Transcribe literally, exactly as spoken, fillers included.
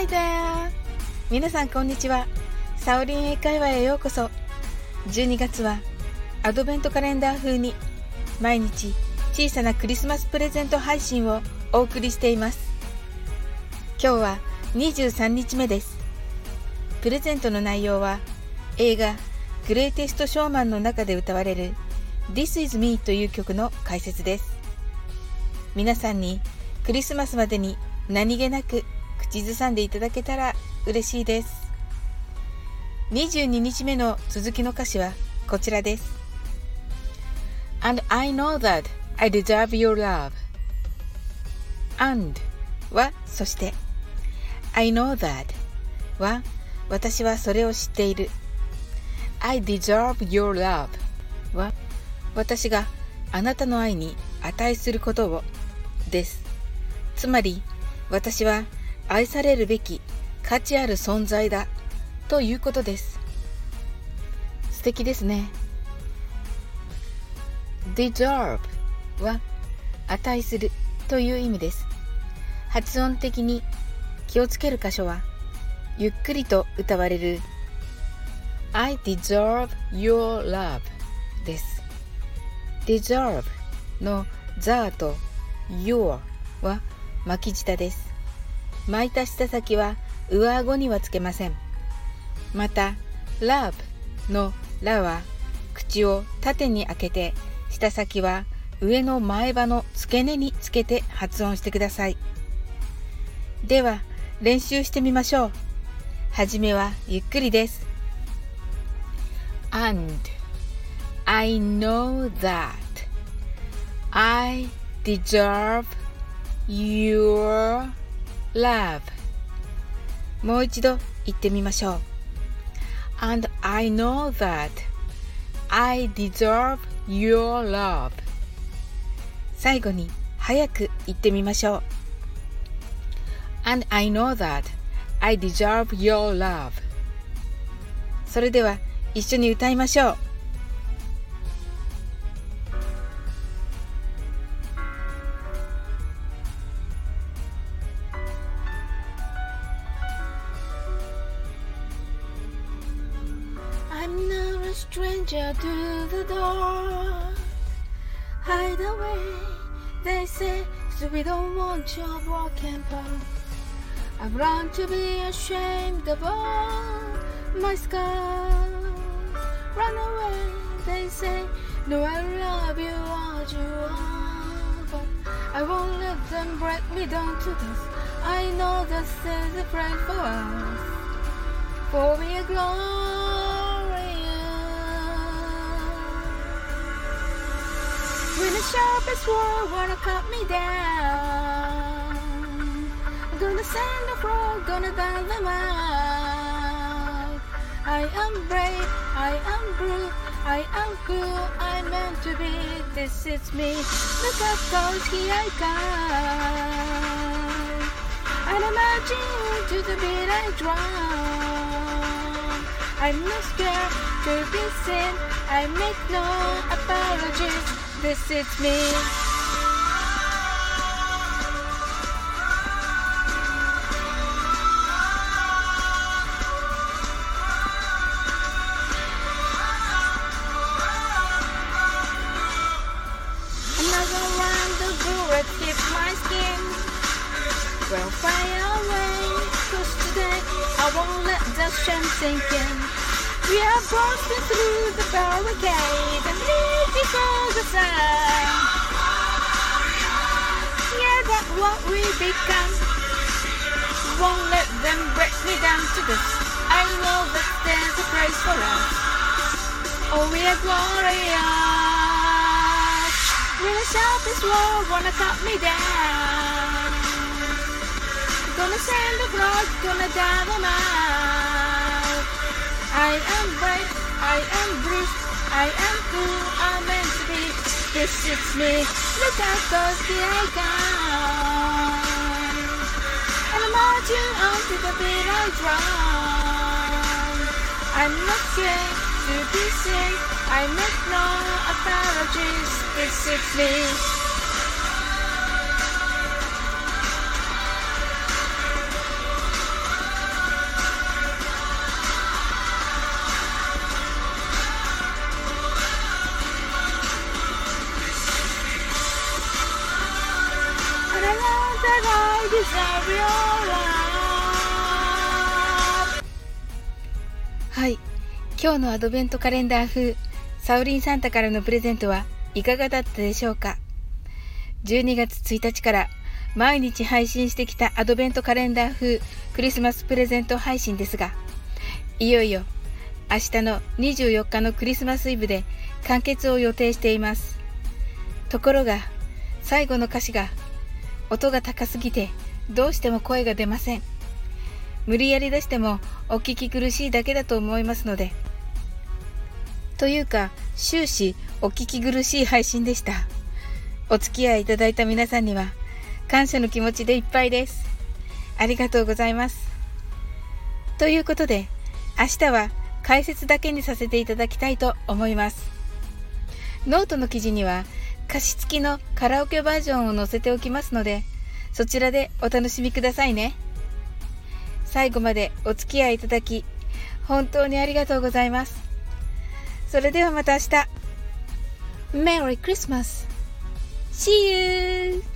Hi there! 皆さんこんにちは。サオリン英会話へようこそ。じゅうにがつはアドベントカレンダー風に毎日小さなクリスマスプレゼント配信をお送りしています。今日はにじゅうさんにちめです。プレゼントの内容は映画グレイテストショーマンの中で歌われる This is me という曲の解説です。皆さんにクリスマスまでに何気なく口ずさんでいただけたら嬉しいです。にじゅうににちめの続きの歌詞はこちらです。And I know that I deserve your love. And はそして I know that は私はそれを知っている。I deserve your love は私があなたの愛に値することをです。つまり私は愛されるべき価値ある存在だということです。素敵ですね。deserve は値するという意味です。発音的に気をつける箇所はゆっくりと歌われる I deserve your love です。deserve の the と your は巻き舌です。巻いた舌先は上顎にはつけません。また love のらは口を縦に開けて舌先は上の前歯の付け根につけて発音してください。では練習してみましょう。はじめはゆっくりです。 And I know that I deserve your love もう一度言ってみましょう。 And I know that I deserve your love 最後に早く言ってみましょう。 And I know that I deserve your love それでは一緒に歌いましょう。I'm not a stranger to the dark. Hide away, they say, so we don't want your broken part. I've learned to be ashamed of all my scars. Run away, they say, no, I love you as you are. But I won't let them break me down to this. I know that there's a place for us, for we are glorious. When the sharpest sword wanna cut me down, I'm gonna send a frog, gonna dial them out. I am brave, I am brute, I am cool, I'm meant to be. This is me, look up close, here I come. And I'm marching to the beat I drum. I'm not scared to be seen, I make no apologies. This is me. Another round of bullets hit my skin. Well, fire away, 'cause today I won't let the shame sink in. We are bursting through the barricade and leave before the sun. Yeah, that's what we become. Won't let them break me down to this. I know that there's a place for us. Oh, we are glorious. When the sharpest world wanna cut me down, gonna send a flood, gonna dive them out. I am brave, I am bruised, I am cool, I'm meant to be. This is me, look out, 'cause here I come. And I'm marching on to the beat I drum. I'm not scared to be seen, I make no apologies. This is me. I deserve your love。 はい、今日のアドベントカレンダー風サオリンサンタからのプレゼントはいかがだったでしょうか。じゅうにがつついたちから毎日配信してきたアドベントカレンダー風クリスマスプレゼント配信ですが、いよいよ明日のにじゅうよっかのクリスマスイブで完結を予定しています。ところが最後の歌詞が音が高すぎてどうしても声が出ません。無理やり出してもお聞き苦しいだけだと思いますので、というか終始お聞き苦しい配信でした。お付き合いいただいた皆さんには感謝の気持ちでいっぱいです。ありがとうございます。ということで明日は解説だけにさせていただきたいと思います。ノートの記事には歌詞付きのカラオケバージョンを載せておきますので、そちらでお楽しみくださいね。最後までお付き合いいただき本当にありがとうございます。それではまた明日。 Merry Christmas! See you!